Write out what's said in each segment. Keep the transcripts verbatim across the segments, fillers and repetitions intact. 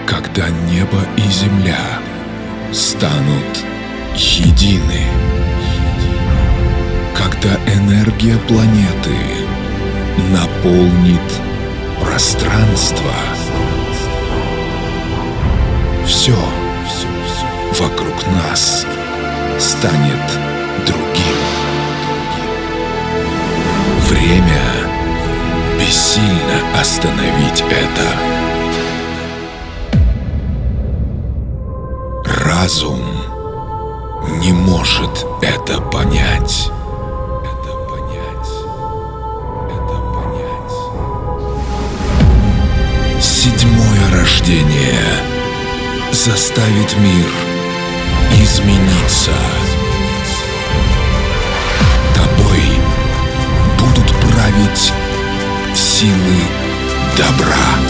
Когда небо и земля станут едины, когда энергия планеты наполнит пространство, все вокруг нас станет другим. Время бессильно остановить это. Разум не может это понять. Это понять. Это понять. Седьмое рождение заставит мир измениться. Тобой будут править силы добра.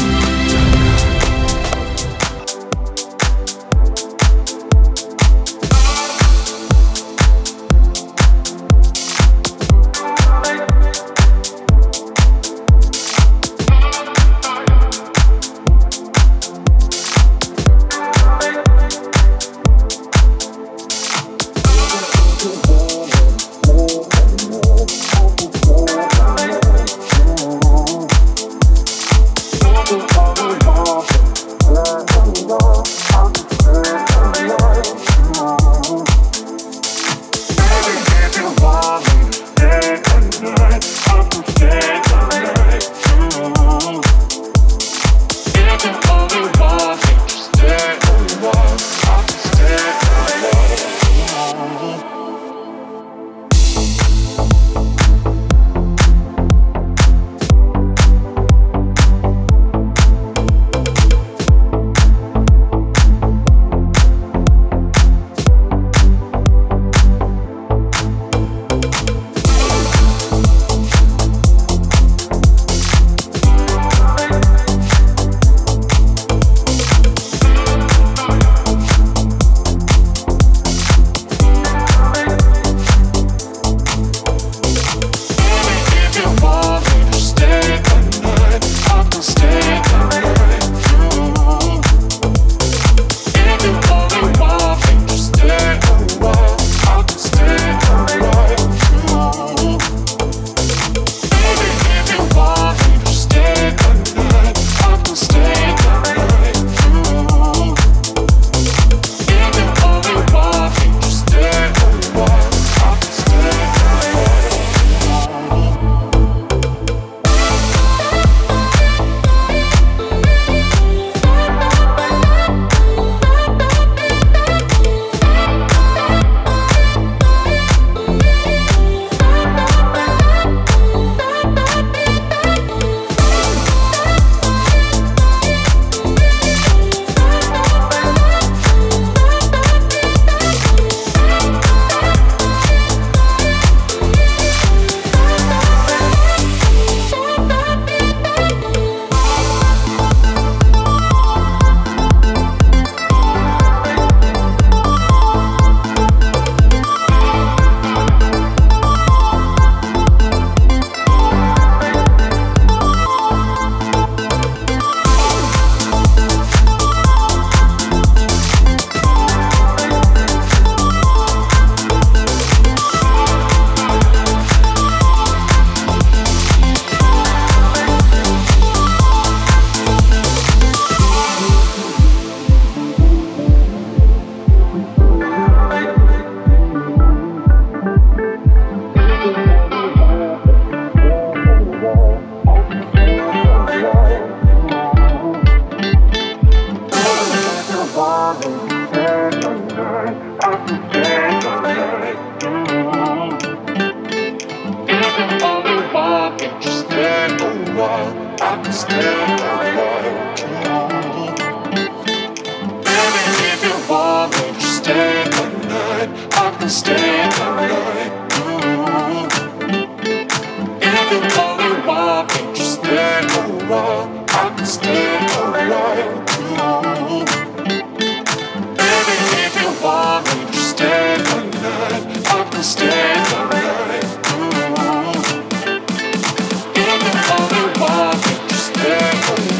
Stay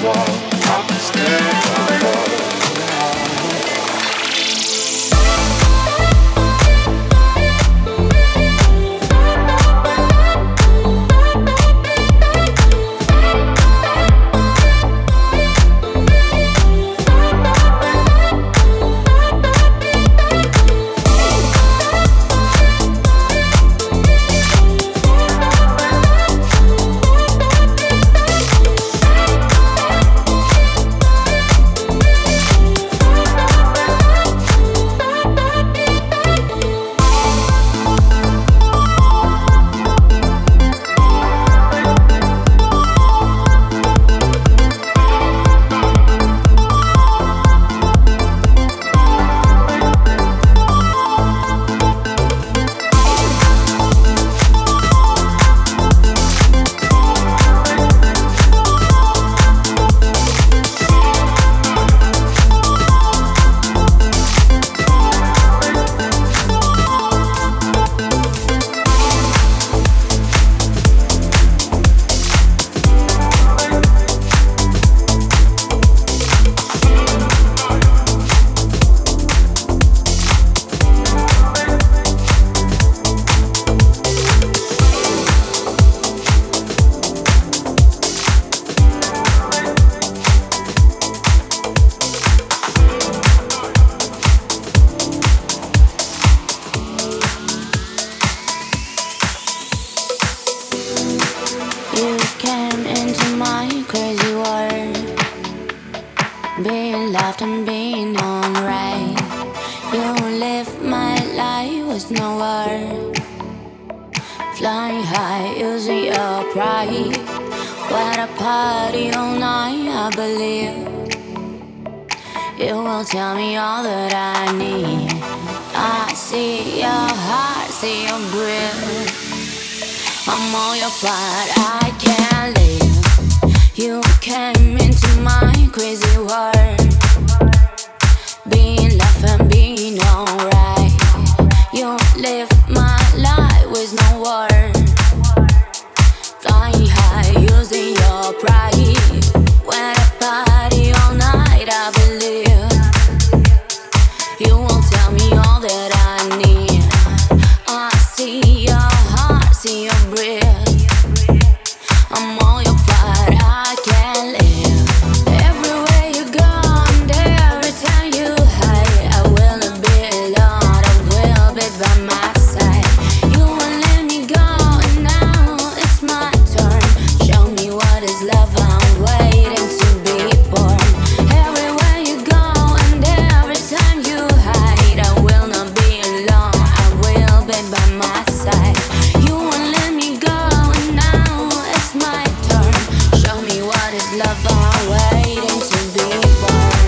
often been alright. You live my life with no word. Flying high using your pride. What a party all night, I believe. You will tell me all that I need. I see your heart, see your breath. I'm all your part, I can't live. You came into my crazy world. Being left and being alright. You live my life with no word. Flying high using your pride. When I party all night, I believe. You will tell me all that I need. I see your heart, see your breath. I'm all your part, I can't live. Everywhere you go, I'm there. Every time you hide, I will not be alone. I will be by my side. You won't let me go, and now it's my turn. Show me what is love, I'm waiting to be born. Everywhere you go, and every time you hide, I will not be alone. I will be by my side. You won't let me go, and now it's my turn. Show me what is love, I'm waiting to be born.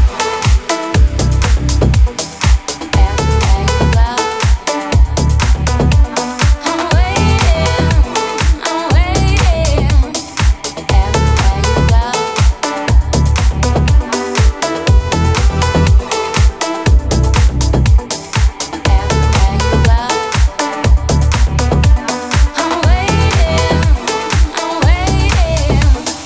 Everywhere you go, I'm waiting, I'm waiting. Everywhere you go, everywhere you go, I'm waiting, I'm waiting.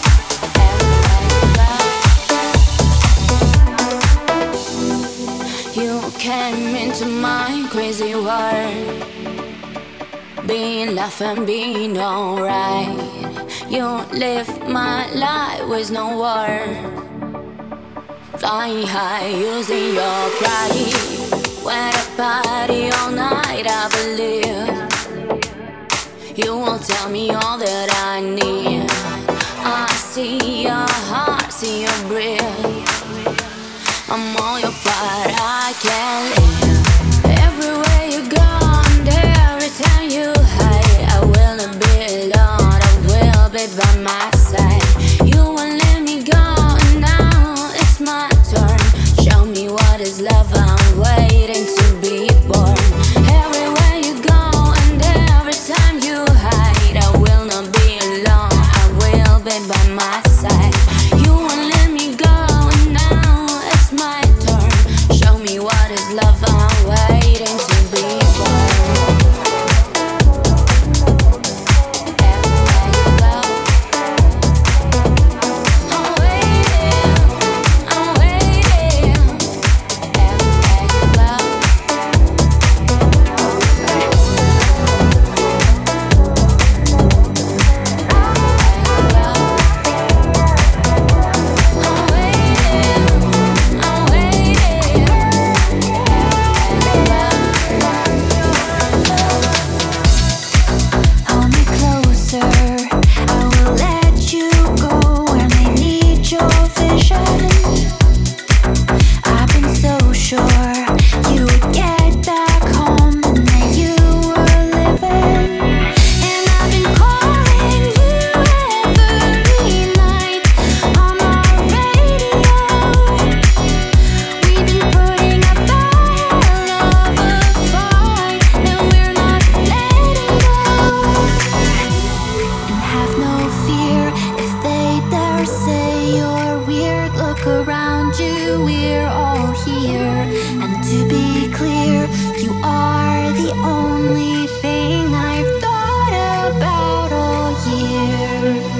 You came into my crazy world. Being left and being alright. You live my life with no word. Flying high using your pride. When I party all night, I believe. You will tell me all that I need. I see your heart, see your breath. I'm all your part, I can't live. Everywhere you go, I'm there. Every time you hide, I will not be alone. I will be by my side. You won't let me go, and now it's my turn. Show me what is love, I'm waiting to be born. Everywhere you go, and every time you hide, I will not be alone. I will be by my side. You won't let me go, and now it's my turn. Show me what is love, I'm waiting to be born. Everywhere you go, I'm waiting, I'm waiting. Everywhere you go, I'm waiting, I'm waiting. Hold me closer, I will let you go when I need your vision. I've been so sure you would get back home and that you were living. And I've been calling you every night on our radio. We've been putting up a hell of a fight, and we're not letting go. And have no fear if they dare say you're weird. Look around you, we're all here. And to be clear, you are the only thing I've thought about all year.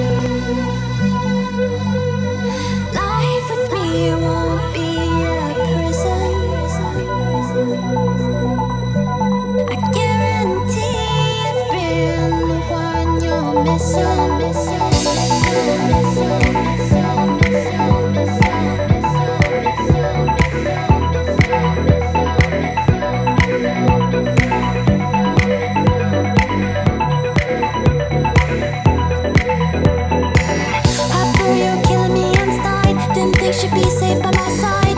Life with me won't be a prison. I guarantee I've been the one you're missing. After you're killing me inside, didn't think she'd be safe by my side.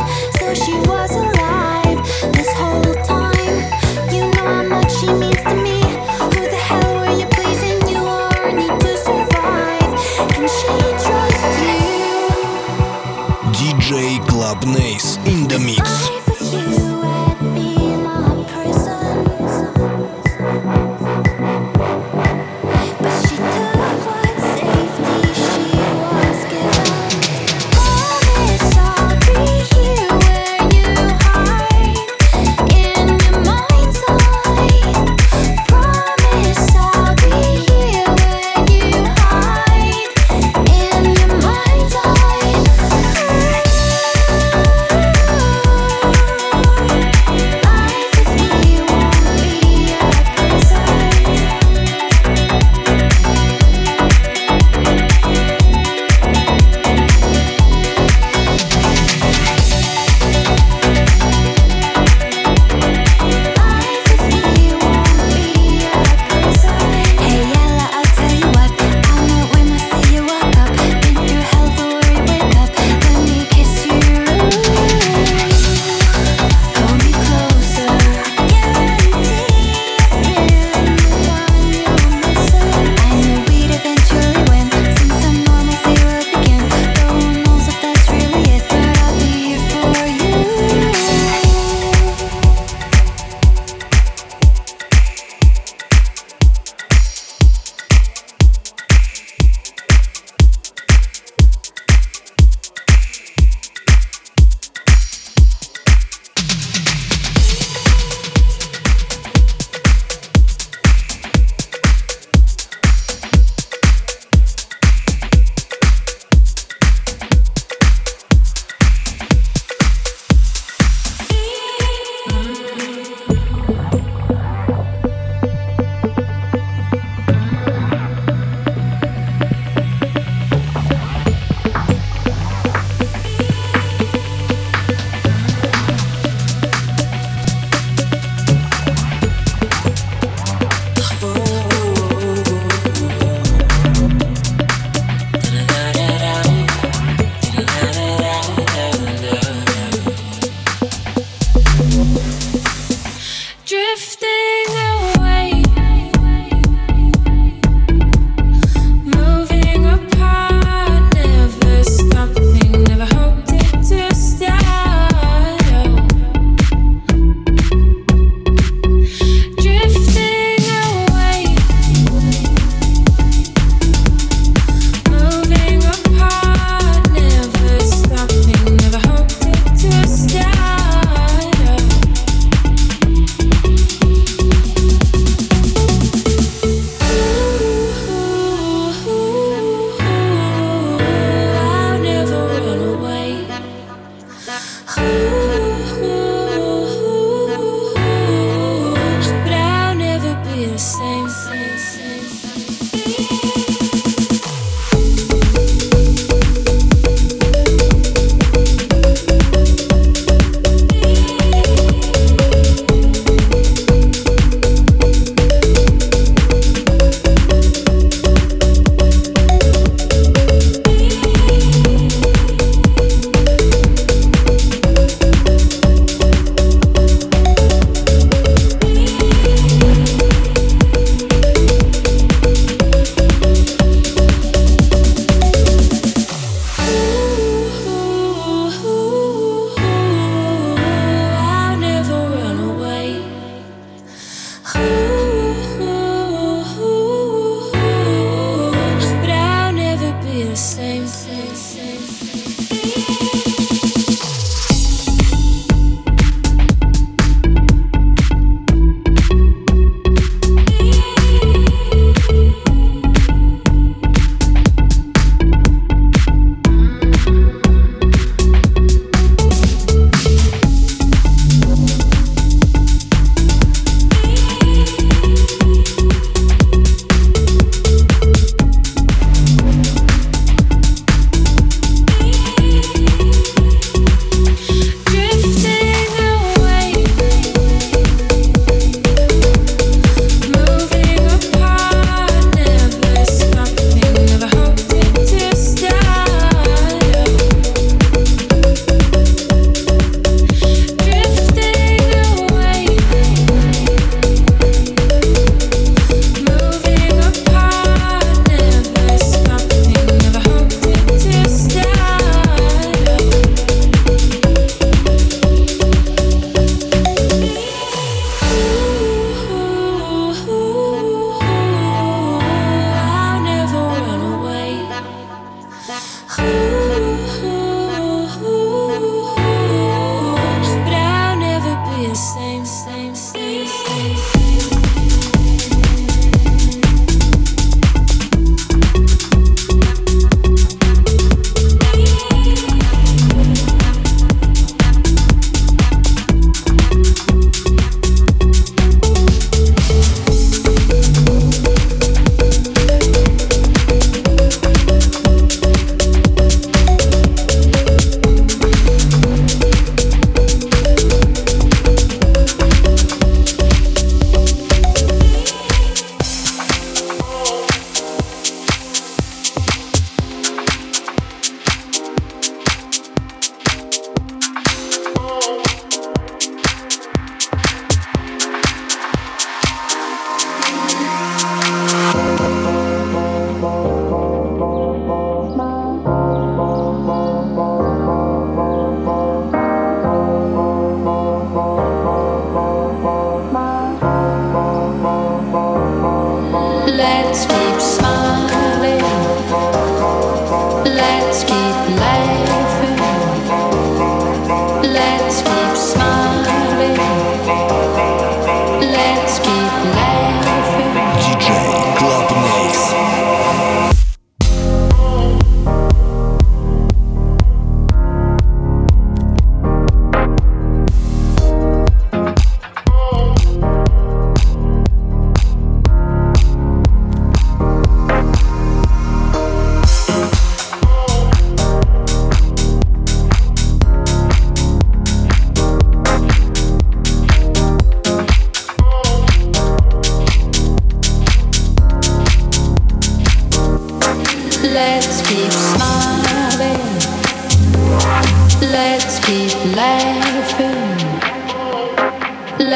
Dubnace in the mix. In your mind's eye.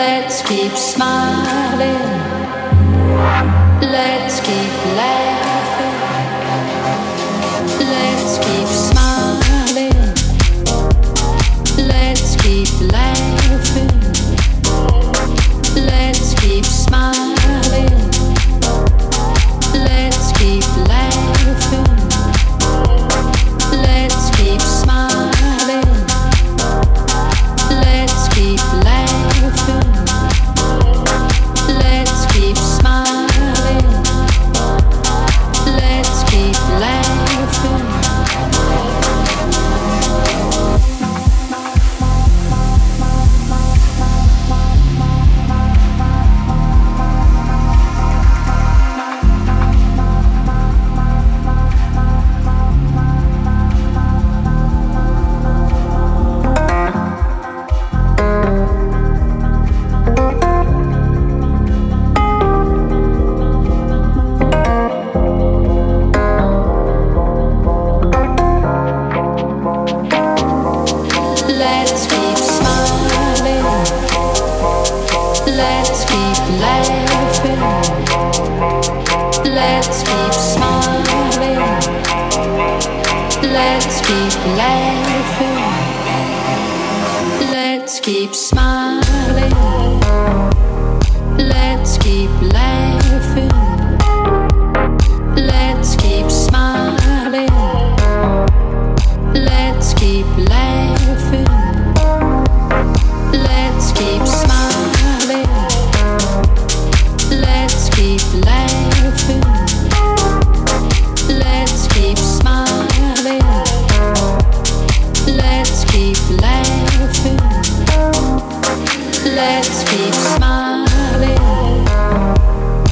Let's keep smiling. Let's keep laughing. Let's keep smiling. Let's keep laughing. Let's keep smiling. Let's keep laughing. Let's keep smiling. Let's keep laughing. Let's keep smiling. Let's keep laughing. Let's keep smiling. Let's keep laughing. Let's keep smiling. Let's keep laughing. Let's keep smiling. Let's keep laughing. Let's keep smiling. Let's keep laughing. Let's keep smiling. Let's keep laughing. Let's keep smiling. Let's keep laughing. Let's keep smiling.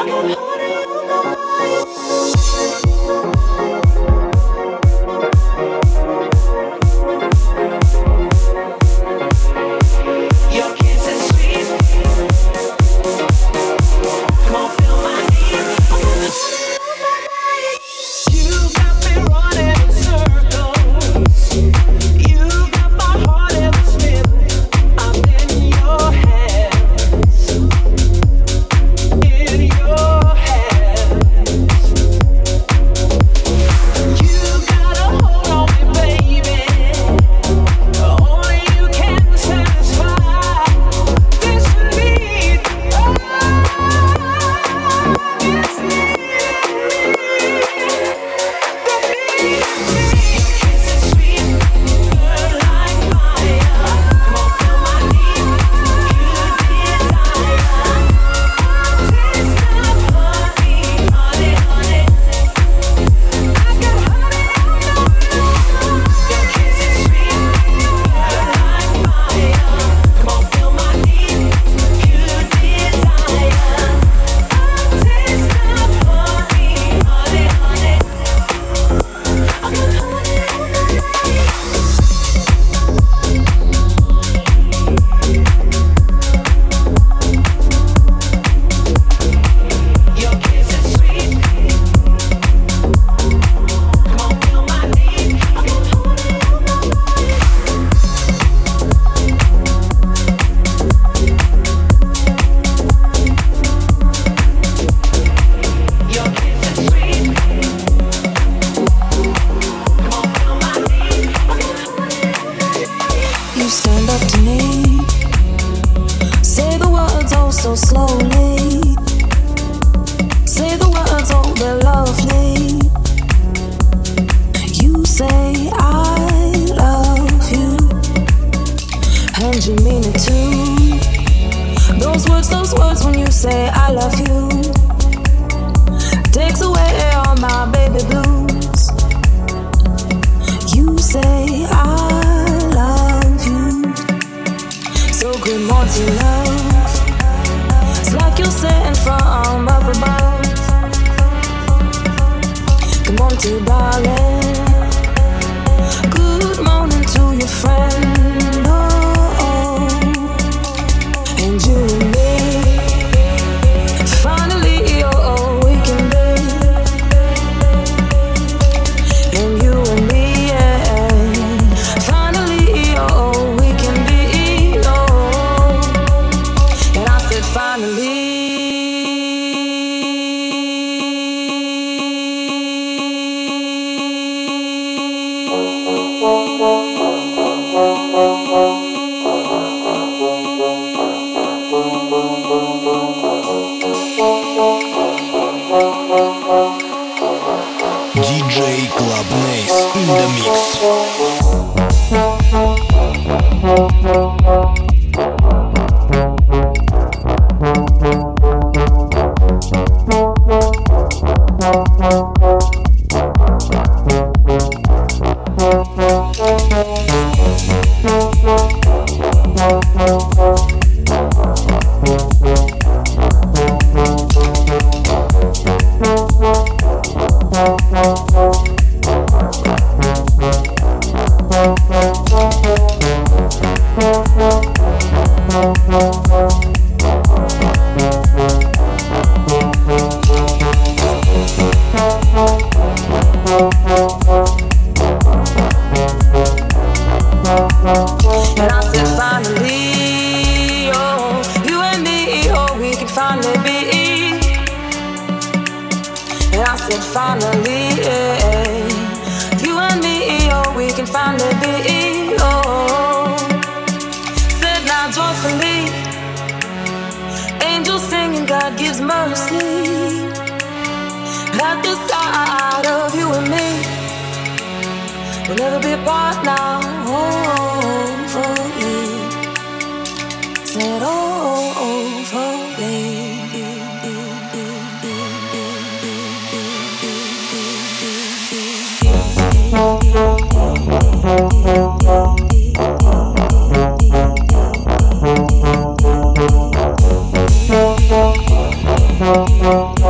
Thank you.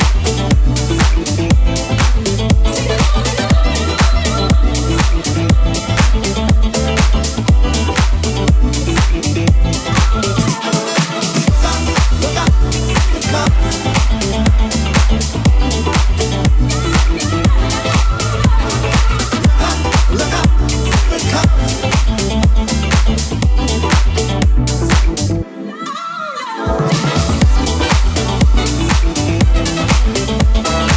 We'll be right back.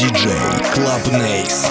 диджей Club Nace.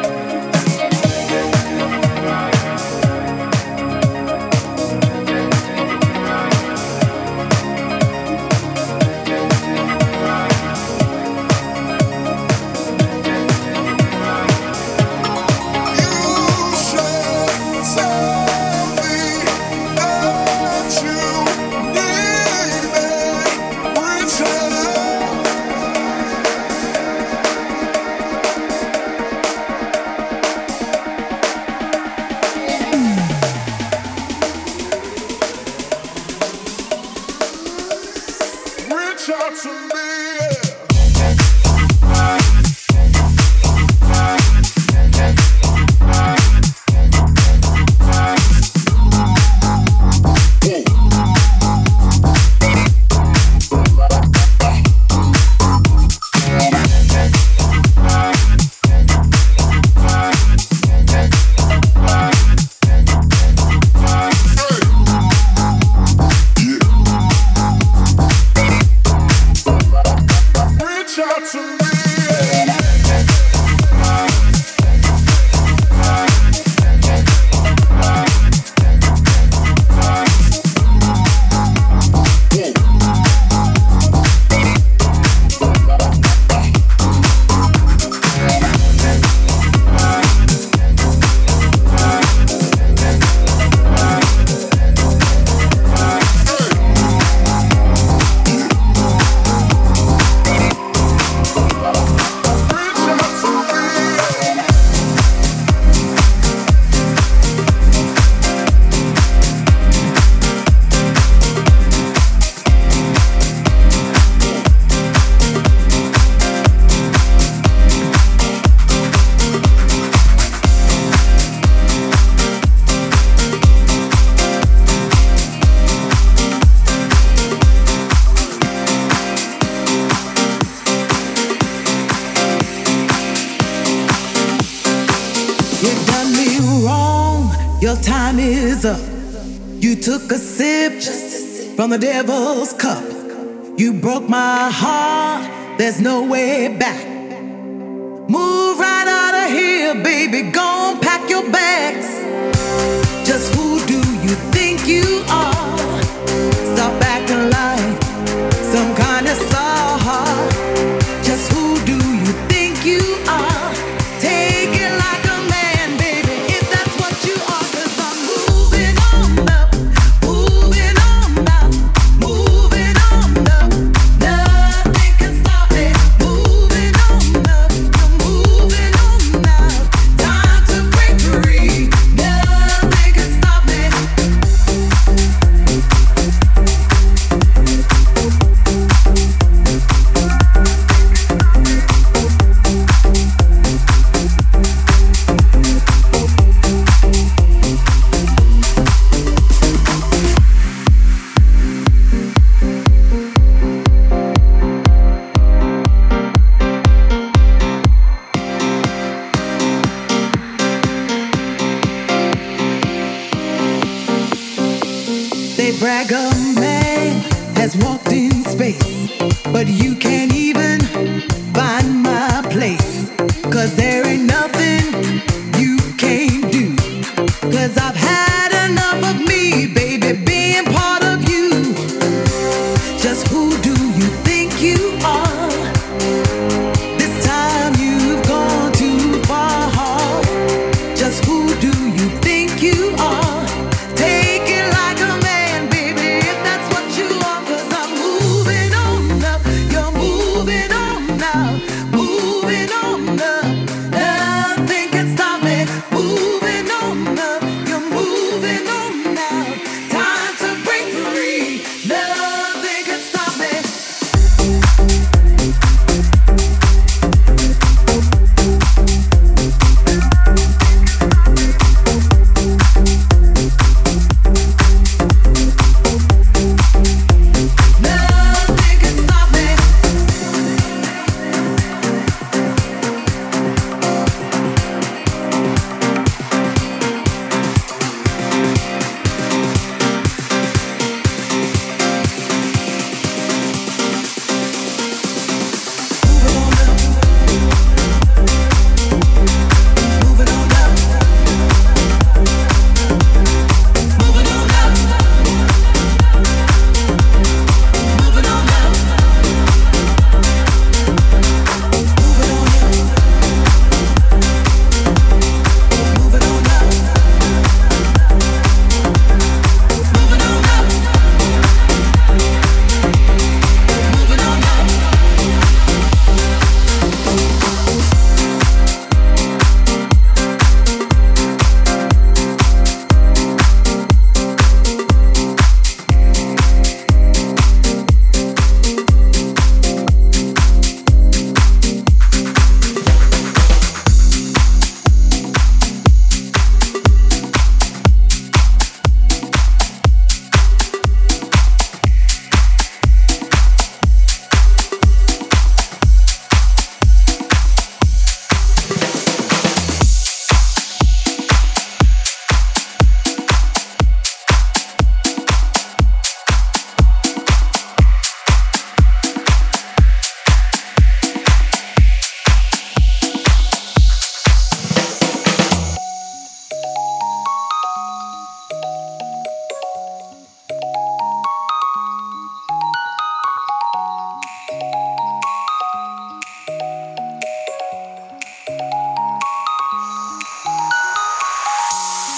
Your time is up. You took a sip from the devil's cup. You broke my heart. There's no way back. Move right out of here, baby. Go on, pack your bags. Just who do you think you are? Stop acting like some kind of star. Just who do you think you are? Take it like a man, baby, if that's what you are. 'Cause I'm moving on up, moving on up, moving on up. Nothing can stop me. Moving on up, I'm moving on up. Time to break free. Nothing can stop me. They brag a man has walked in space, but you can't even find my place. 'Cause there ain't nothing you can't do. 'Cause I've had enough of me, baby, being part of you. Just who do you think you are? This time you've gone too far. Just who do you think you are? Take it like a man, baby,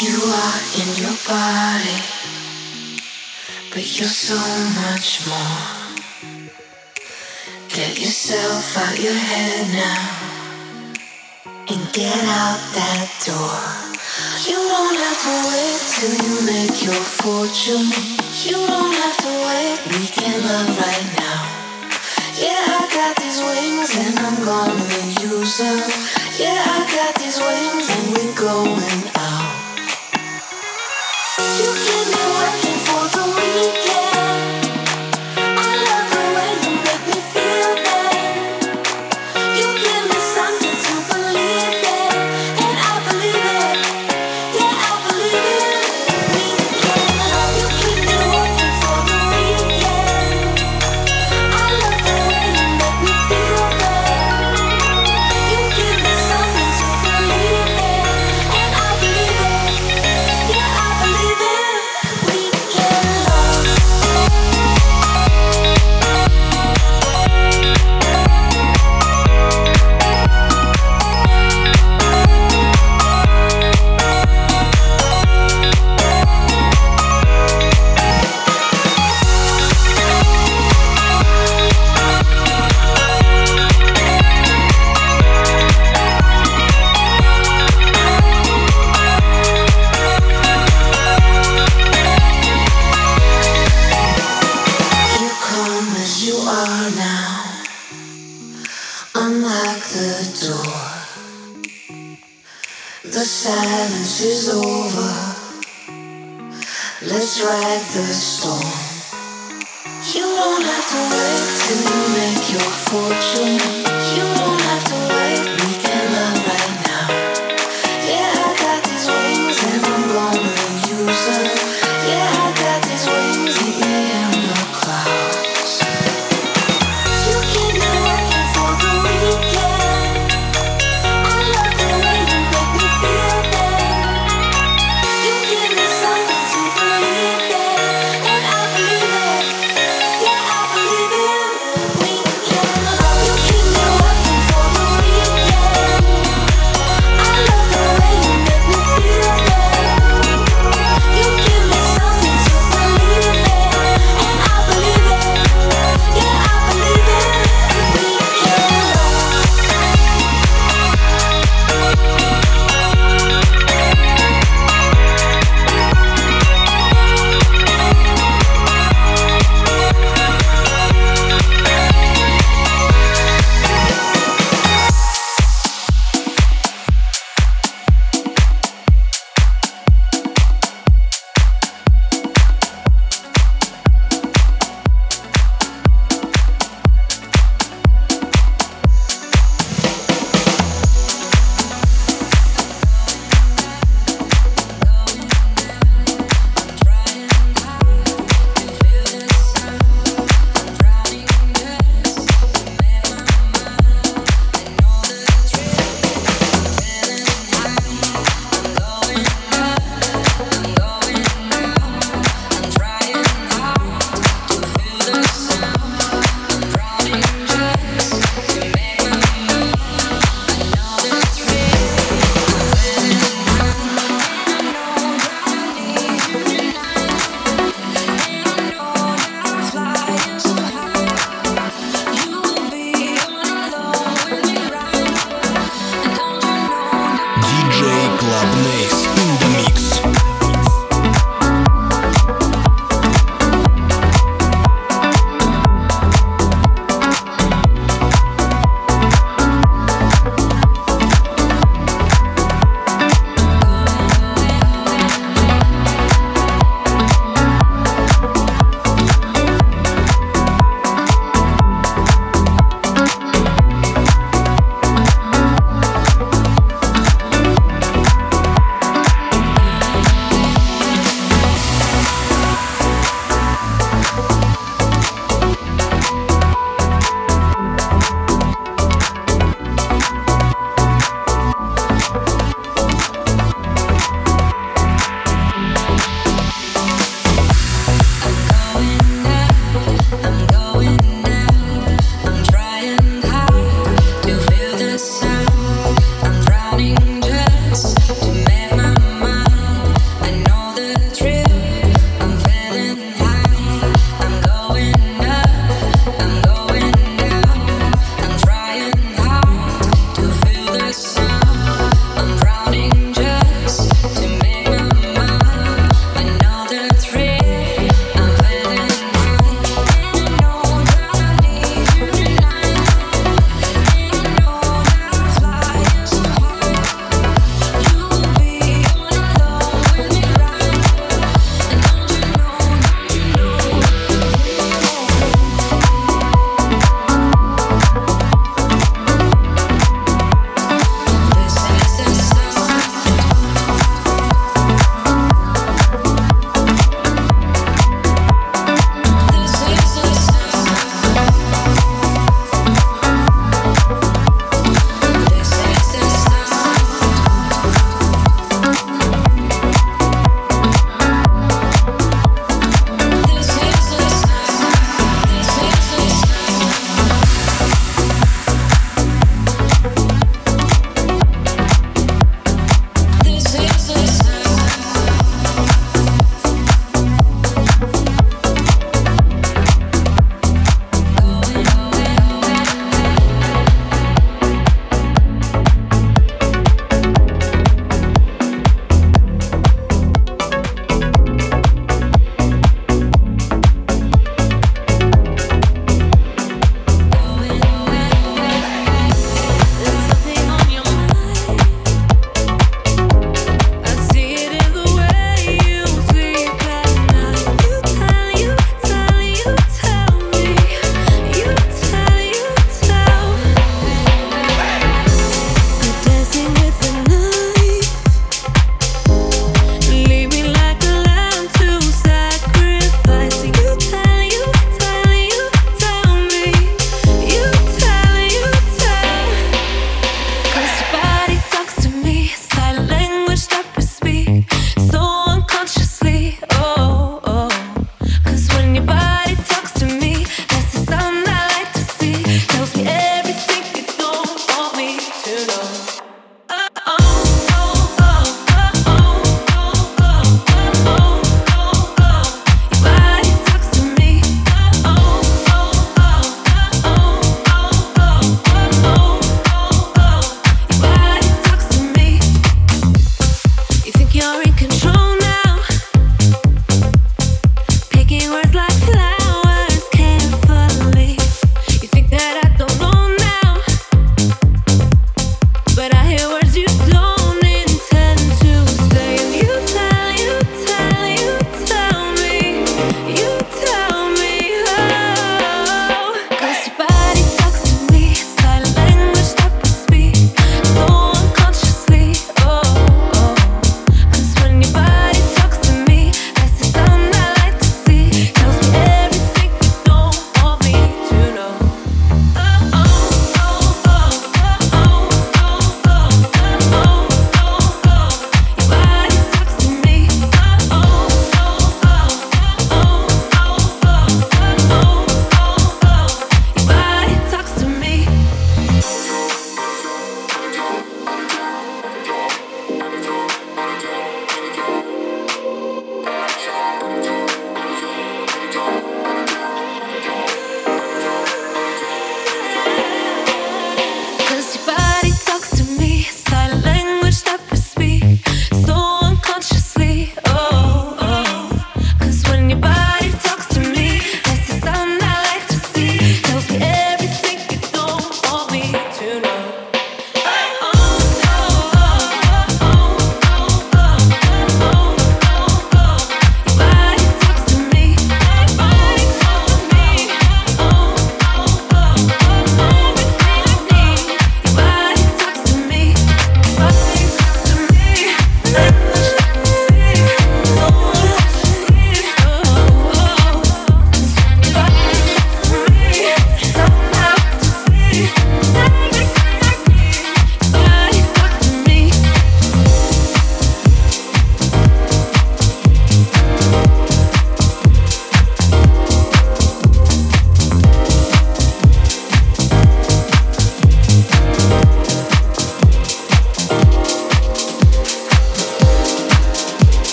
You are in your body, but you're so much more. Get yourself out your head now and get out that door. You don't have to wait till you make your fortune. You don't have to wait, we can love right now. Yeah, I got these wings and I'm gonna use them. Yeah, I got these wings and we're going out. You keep me working for the weekend. I love the way you make me feel that. You give me something to believe in, and I believe it. Yeah, I believe it. Weekend, you keep me working for the weekend. I love the way you make me feel that. You give me something to believe in, and I believe it. Yeah, I believe it. Weekend love. You come as you are now. Unlock the door. The silence is over. Let's ride the storm. You don't have to wait till you make your fortune. You don't have to wait, we can love right now. Yeah, I got these wings and I'm gonna use them. Yeah, I got these wings, meet me in the clouds. You keep me working for the weekend. I love the way you make me feel that. You give me something to believe in, and I believe it. Yeah, I believe it. Weekend love. You keep me working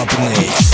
Club Nace.